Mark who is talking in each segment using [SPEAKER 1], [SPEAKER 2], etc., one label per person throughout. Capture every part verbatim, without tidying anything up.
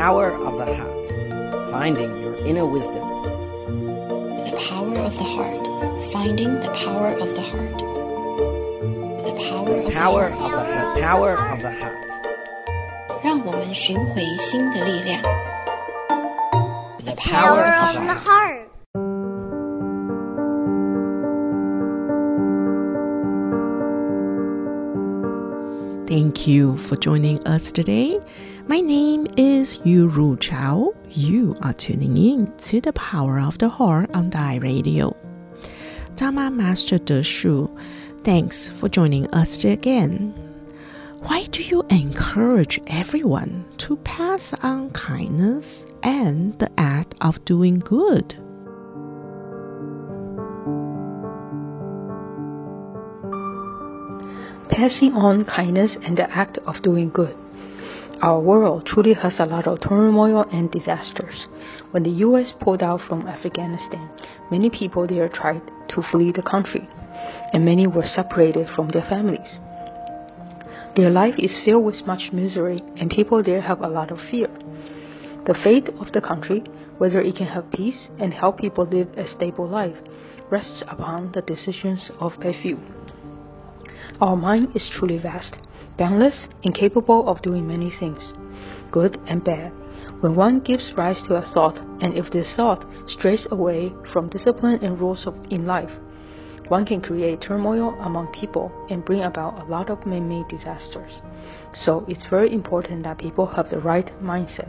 [SPEAKER 1] power of the heart, finding your inner wisdom.
[SPEAKER 2] The power of the heart, finding the power of the heart. The power of
[SPEAKER 1] Power
[SPEAKER 2] the
[SPEAKER 1] of
[SPEAKER 2] heart.
[SPEAKER 1] the, the power of the heart.
[SPEAKER 2] 让我们寻回心的力量。The
[SPEAKER 1] power of the
[SPEAKER 3] heart.
[SPEAKER 4] Thank you for joining us today. My name is Yu Ru Chao. You are tuning in to the Power of the Heart on Dai Radio. Dharma Master De Shu, thanks for joining us again. Why do you encourage everyone to pass on kindness and the act of doing good?
[SPEAKER 5] Passing on kindness and the act of doing good. Our world truly has a lot of turmoil and disasters. When the U S pulled out from Afghanistan, many people there tried to flee the country, and many were separated from their families. Their life is filled with much misery, and people there have a lot of fear. The fate of the country, whether it can have peace and help people live a stable life, rests upon the decisions of a few. Our mind is truly vast, boundless, and capable of doing many things, good and bad. When one gives rise to a thought, and if this thought strays away from discipline and rules of, in life, one can create turmoil among people and bring about a lot of man-made disasters. So it's very important that people have the right mindset.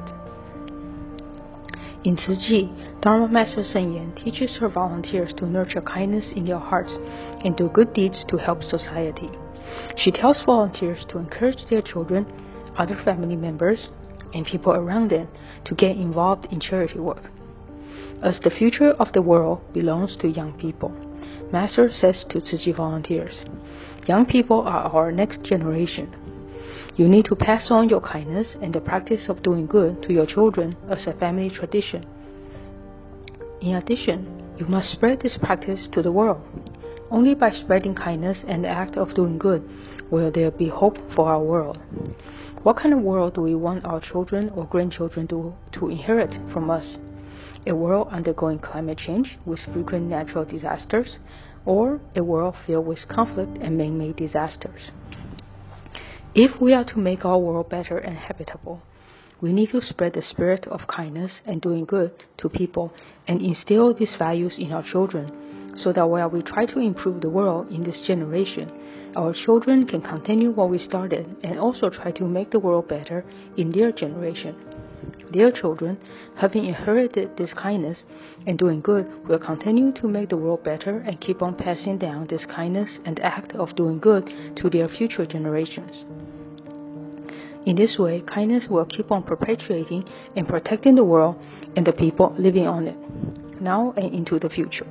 [SPEAKER 5] In Tzu Chi, Dharma Master Sen Yan teaches her volunteers to nurture kindness in their hearts and do good deeds to help society. She tells volunteers to encourage their children, other family members, and people around them to get involved in charity work. As the future of the world belongs to young people, Master says to Tzu Chi volunteers, young people are our next generation. You need to pass on your kindness and the practice of doing good to your children as a family tradition. In addition, you must spread this practice to the world. Only by spreading kindness and the act of doing good will there be hope for our world. What kind of world do we want our children or grandchildren to, to inherit from us? A world undergoing climate change with frequent natural disasters, or a world filled with conflict and man-made disasters? If we are to make our world better and habitable, we need to spread the spirit of kindness and doing good to people and instill these values in our children, so that while we try to improve the world in this generation, our children can continue what we started and also try to make the world better in their generation. Their children, having inherited this kindness and doing good, will continue to make the world better and keep on passing down this kindness and act of doing good to their future generations. In this way, kindness will keep on perpetuating and protecting the world and the people living on it, now and into the future.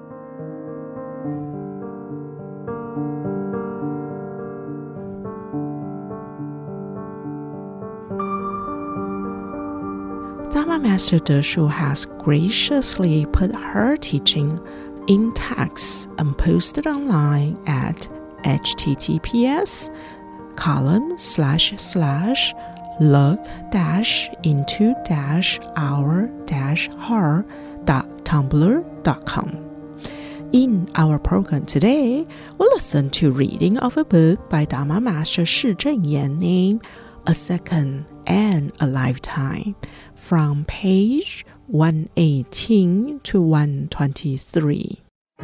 [SPEAKER 4] Dharma Master De Shu has graciously put her teaching in text and posted online at https column slash slash look dash into dash our dash her dot tumblr dot com. In our program today, we'll listen to reading of a book by Dharma Master Shi Zhenyan named A Second and a Lifetime, from page one eighteen to one twenty-three.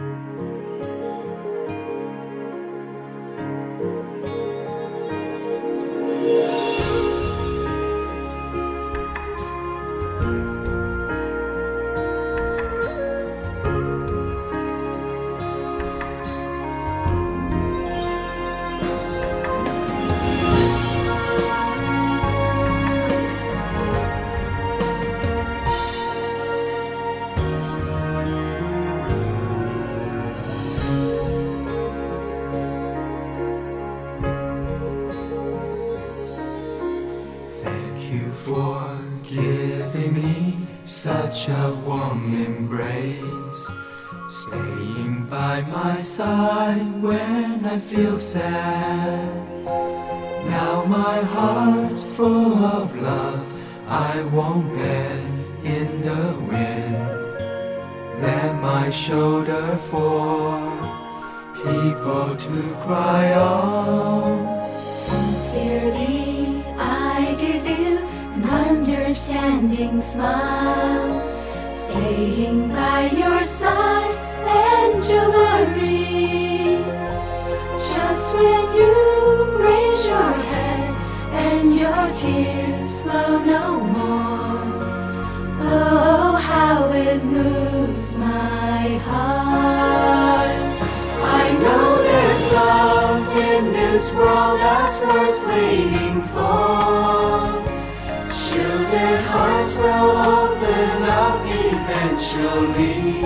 [SPEAKER 6] Such a warm embrace, staying by my side when I feel sad. Now my heart's full of love, I won't bend in the wind. Lend my shoulder for people to cry on.
[SPEAKER 3] Sincerely, I give you an understanding smile, staying by your side and your worries. Just when you raise your head and your tears flow no more, oh, how it moves my heart. I know there's love in this world that's worth waiting for. Shielded hearts will open up eventually.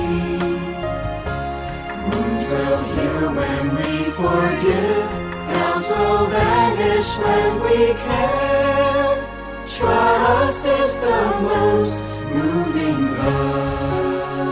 [SPEAKER 3] Wounds will heal when we forgive. Doubts will vanish when we care. Trust is the most moving love.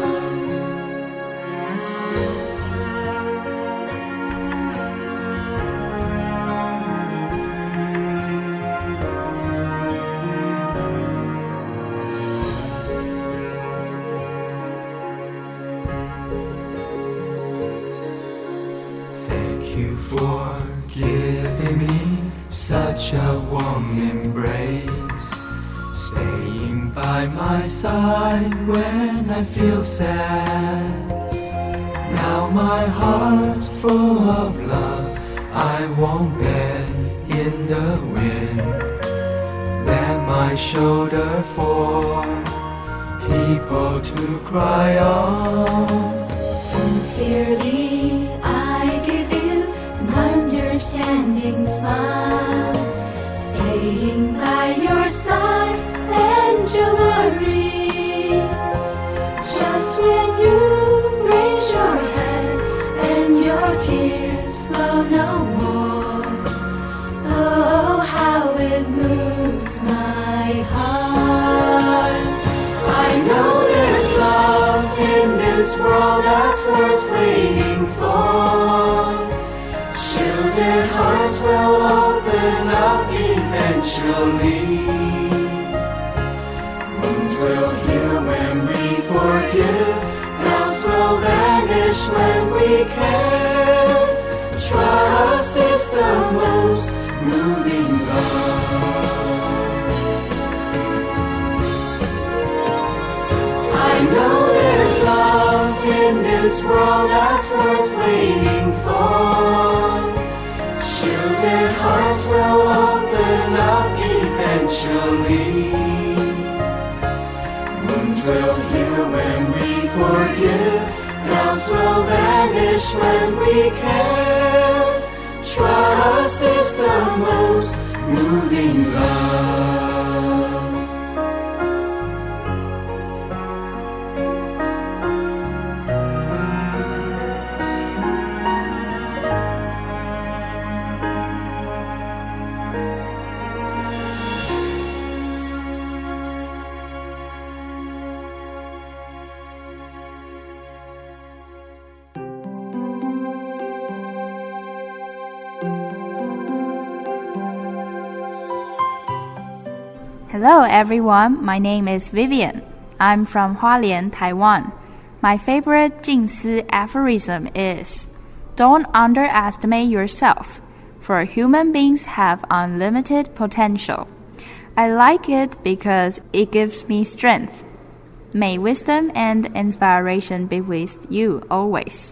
[SPEAKER 6] For giving me such a warm embrace, staying by my side when I feel sad. Now my heart's full of love, I won't bend in the wind. Lend my shoulder for people to cry on.
[SPEAKER 3] Sincerely, I give you an understanding smile, staying by your side and your worries. Just when you raise your head and your tears flow no more, oh, how it moves my heart. I know there's love in this world that's worth waiting for. Shielded hearts will open up eventually. Wounds will heal when we forgive. Doubts will vanish when we care. Trust is the most moving love. I know there's love in this world that's worth waiting for. Shielded hearts will open up eventually. Wounds will heal when we forgive. Doubts will vanish when we care. Trust is the most moving love.
[SPEAKER 7] Hello everyone, my name is Vivian. I'm from Hualien, Taiwan. My favorite Jing Si aphorism is, don't underestimate yourself, for human beings have unlimited potential. I like it because it gives me strength. May wisdom and inspiration be with you always.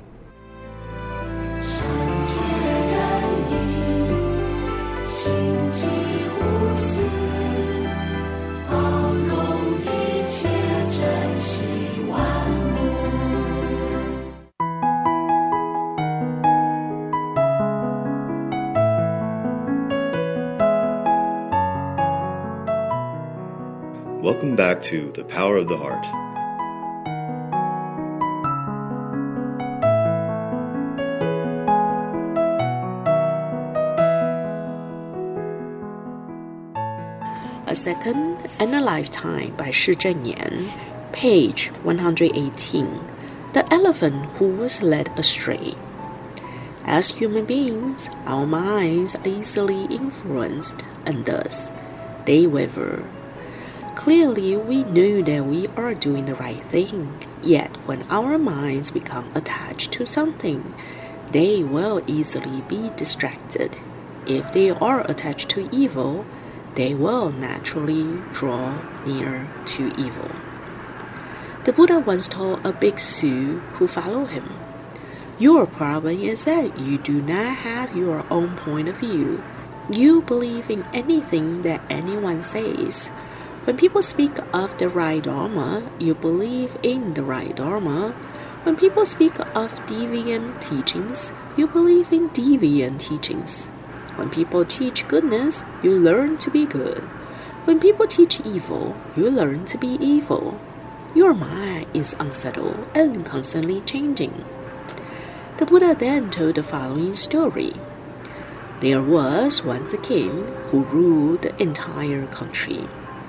[SPEAKER 8] Welcome back to The Power of the Heart.
[SPEAKER 4] A Second and a Lifetime by Shi Zhenyan, page one hundred eighteen. The Elephant Who Was Led Astray. As human beings, our minds are easily influenced, and thus they waver. Clearly, we know that we are doing the right thing, yet when our minds become attached to something, they will easily be distracted. If they are attached to evil, they will naturally draw near to evil. The Buddha once told a bhikshu who followed him, "Your problem is that you do not have your own point of view. You believe in anything that anyone says. When people speak of the right Dharma, you believe in the right Dharma. When people speak of deviant teachings, you believe in deviant teachings. When people teach goodness, you learn to be good. When people teach evil, you learn to be evil. Your mind is unsettled and constantly changing." The Buddha then told the following story. There was once a king who ruled the entire country.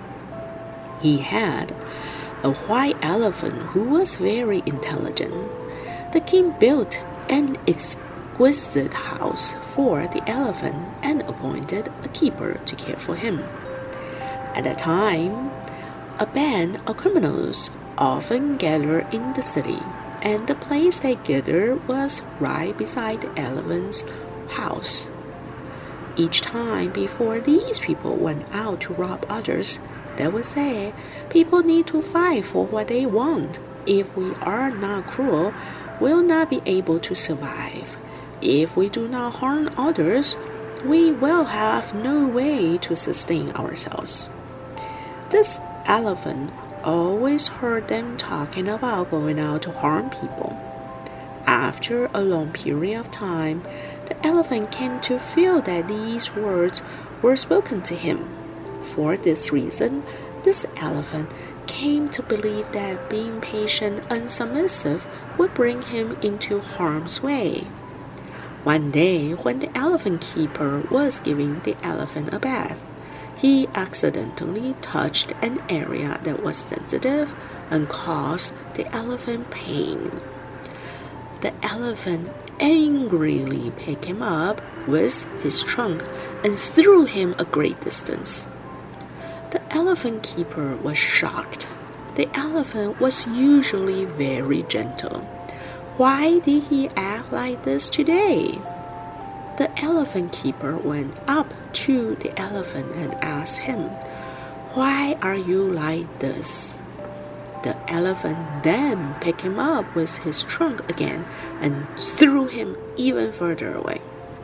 [SPEAKER 4] He had a white elephant who was very intelligent. The king built an exquisite house for the elephant and appointed a keeper to care for him. At that time, a band of criminals often gathered in the city, and the place they gathered was right beside the elephant's house. Each time before these people went out to rob others, they would say, "People need to fight for what they want. If we are not cruel, we'll not be able to survive. If we do not harm others, we will have no way to sustain ourselves." This elephant always heard them talking about going out to harm people. After a long period of time, the elephant came to feel that these words were spoken to him. For this reason, this elephant came to believe that being patient and submissive would bring him into harm's way. One day, when the elephant keeper was giving the elephant a bath, he accidentally touched an area that was sensitive and caused the elephant pain. The elephant angrily picked him up with his trunk and threw him a great distance. The elephant keeper was shocked. The elephant was usually very gentle. Why did he act like this today? The elephant keeper went up to the elephant and asked him, "Why are you like this?" The elephant then picked him up with his trunk again and threw him even further away.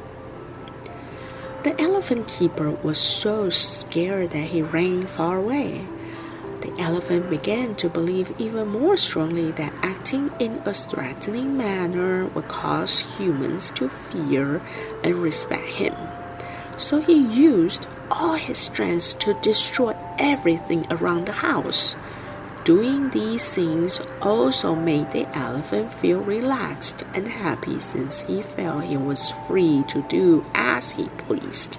[SPEAKER 4] The elephant keeper was so scared that he ran far away. The elephant began to believe even more strongly that acting in a threatening manner would cause humans to fear and respect him. So he used all his strength to destroy everything around the house. Doing these things also made the elephant feel relaxed and happy since he felt he was free to do as he pleased.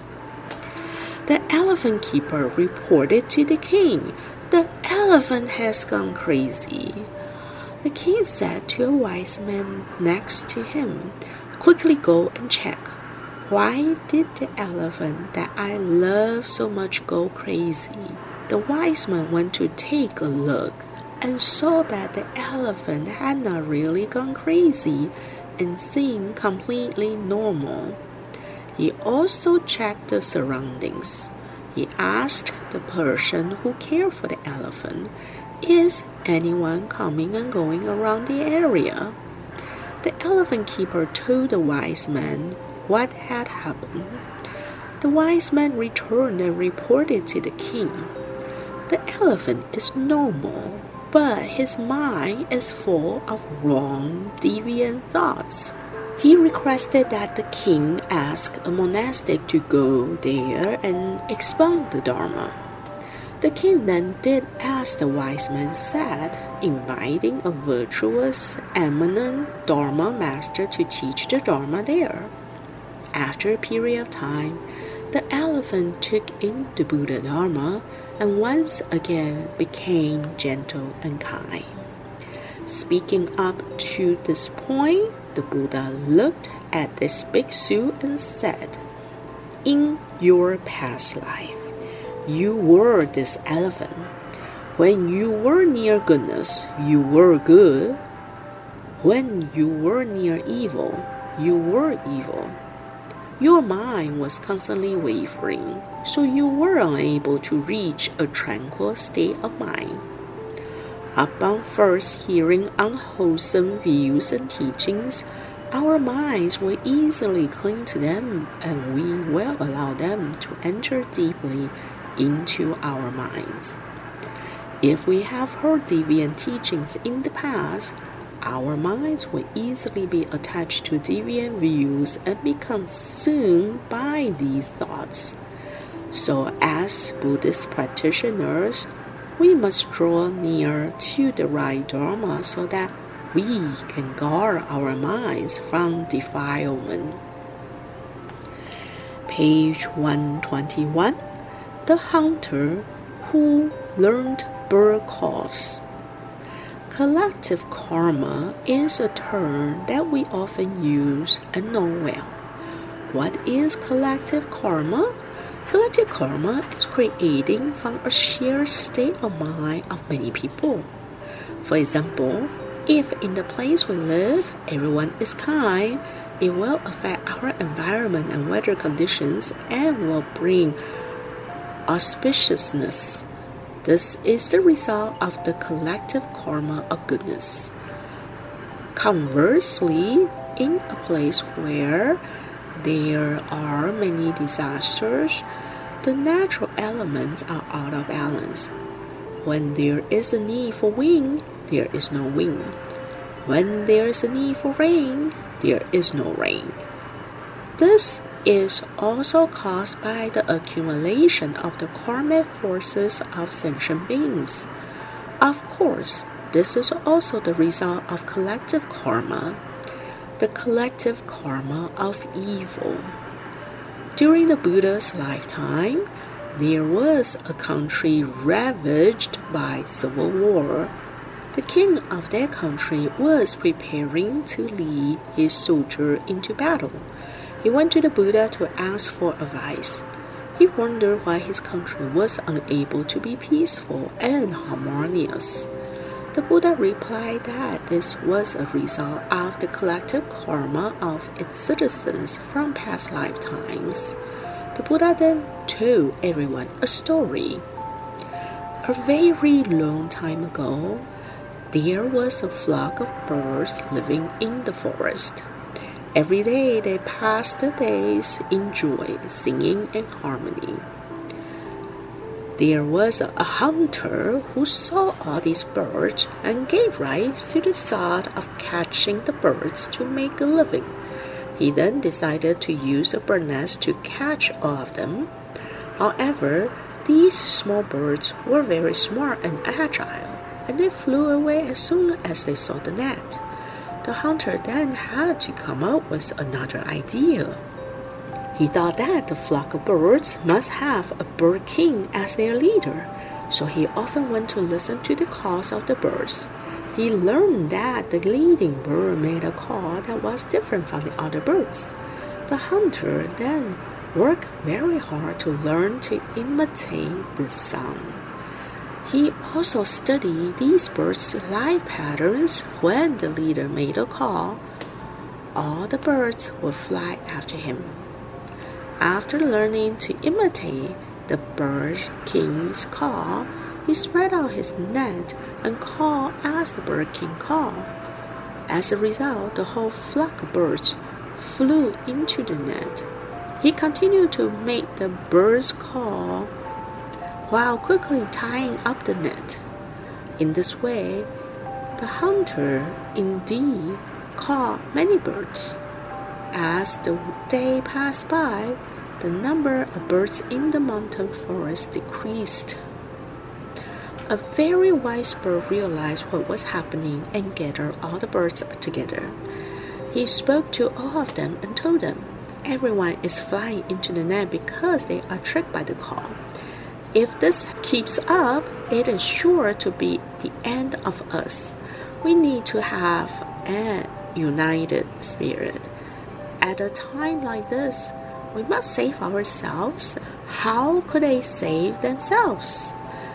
[SPEAKER 4] The elephant keeper reported to the king, "The elephant has gone crazy." The king said to a wise man next to him, "Quickly go and check. Why did the elephant that I love so much go crazy?" The wise man went to take a look and saw that the elephant had not really gone crazy and seemed completely normal. He also checked the surroundings. He asked the person who cared for the elephant, "Is anyone coming and going around the area?" The elephant keeper told the wise man what had happened. The wise man returned and reported to the king, "The elephant is normal, but his mind is full of wrong, deviant thoughts." He requested that the king ask a monastic to go there and expound the Dharma. The king then did as the wise man said, inviting a virtuous, eminent Dharma master to teach the Dharma there. After a period of time, the elephant took in the Buddha Dharma and once again became gentle and kind. Speaking up to this point, the Buddha looked at this bhikshu and said, "In your past life, you were this elephant. When you were near goodness, you were good. When you were near evil, you were evil. Your mind was constantly wavering, so you were unable to reach a tranquil state of mind. Upon first hearing unwholesome views and teachings, our minds will easily cling to them, and we will allow them to enter deeply into our minds. If we have heard deviant teachings in the past, our minds will easily be attached to deviant views and become consumed by these thoughts. So, as Buddhist practitioners, we must draw near to the right Dharma so that we can guard our minds from defilement. Page one twenty-one. The hunter who learned bird calls. Collective karma is a term that we often use and know well. What is collective karma? Collective karma is creating from a shared state of mind of many people. For example, if in the place we live, everyone is kind, it will affect our environment and weather conditions and will bring auspiciousness. This is the result of the collective karma of goodness. Conversely, in a place where there are many disasters, the natural elements are out of balance. When there is a need for wind, there is no wind. When there is a need for rain, there is no rain. This is also caused by the accumulation of the karmic forces of sentient beings. Of course, this is also the result of collective karma, the collective karma of evil. During the Buddha's lifetime, there was a country ravaged by civil war. The king of that country was preparing to lead his soldier into battle. He went to the Buddha to ask for advice. He wondered why his country was unable to be peaceful and harmonious. The Buddha replied that this was a result of the collective karma of its citizens from past lifetimes. The Buddha then told everyone a story. A very long time ago, there was a flock of birds living in the forest. Every day they passed the days in joy, singing in harmony. There was a hunter who saw all these birds and gave rise to the thought of catching the birds to make a living. He then decided to use a bird nest to catch all of them. However, these small birds were very smart and agile, and they flew away as soon as they saw the net. The hunter then had to come up with another idea. He thought that the flock of birds must have a bird king as their leader, so he often went to listen to the calls of the birds. He learned that the leading bird made a call that was different from the other birds. The hunter then worked very hard to learn to imitate this sound. He also studied these birds' life patterns. When the leader made a call, all the birds would fly after him. After learning to imitate the bird king's call, he spread out his net and called as the bird king called. As a result, the whole flock of birds flew into the net. He continued to make the birds call while quickly tying up the net. In this way, the hunter indeed caught many birds. As the day passed by, the number of birds in the mountain forest decreased. A very wise bird realized what was happening and gathered all the birds together. He spoke to all of them and told them, "Everyone is flying into the net because they are tricked by the call. If this keeps up, it is sure to be the end of us. We need to have a united spirit. At a time like this, we must save ourselves. How could they save themselves?"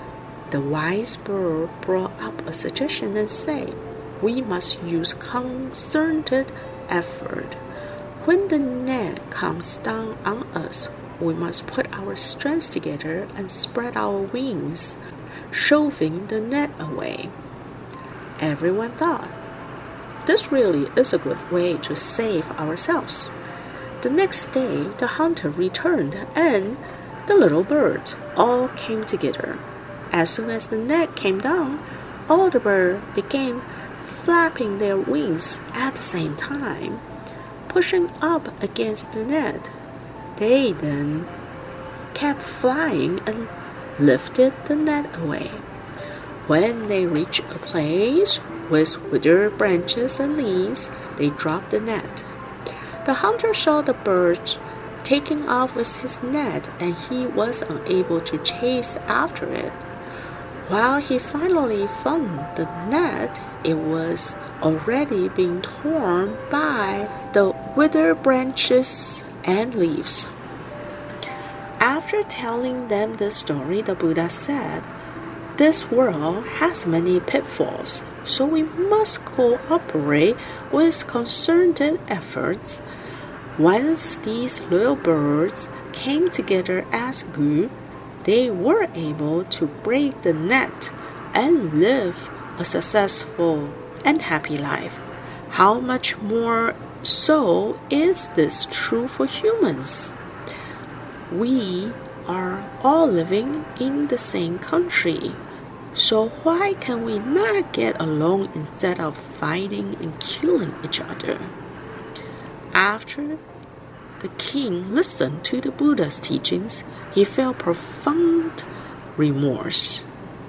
[SPEAKER 4] The wise bird brought up a suggestion and said, "We must use concerted effort. When the net comes down on us, we must put our strength together and spread our wings, shoving the net away." Everyone thought, "This really is a good way to save ourselves." The next day, the hunter returned, and the little birds all came together. As soon as the net came down, all the birds began flapping their wings at the same time, pushing up against the net. They then kept flying and lifted the net away. When they reached a place with withered branches and leaves, they dropped the net. The hunter saw the bird taking off with his net, and he was unable to chase after it. While he finally found the net, it was already being torn by the withered branches and leaves. After telling them the story, the Buddha said, "This world has many pitfalls, so we must cooperate with concerted efforts." Once these little birds came together as a group, they were able to break the net and live a successful and happy life. How much more so is this true for humans? We are all living in the same country, so why can we not get along instead of fighting and killing each other? After the king listened to the Buddha's teachings, he felt profound remorse.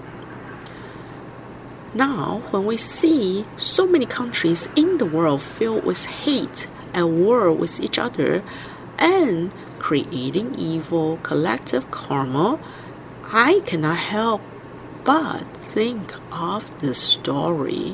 [SPEAKER 4] Now, when we see so many countries in the world filled with hate and war with each other and creating evil collective karma, I cannot help but think of this story.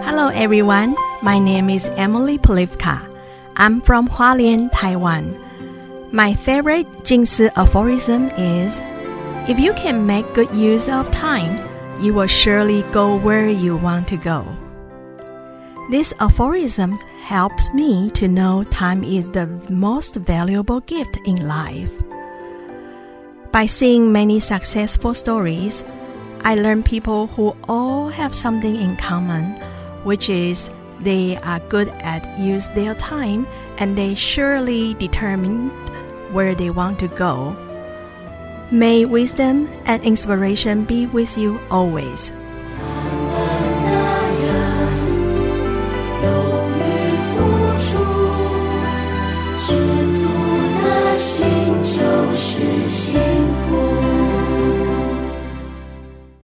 [SPEAKER 9] Hello everyone, my name is Emily Polivka. I'm from Hualien, Taiwan. My favorite Jing Si aphorism is, if you can make good use of time, you will surely go where you want to go. This aphorism helps me to know time is the most valuable gift in life. By seeing many successful stories, I learned people who all have something in common, which is they are good at use their time and they surely determined where they want to go. May wisdom and inspiration be with you always.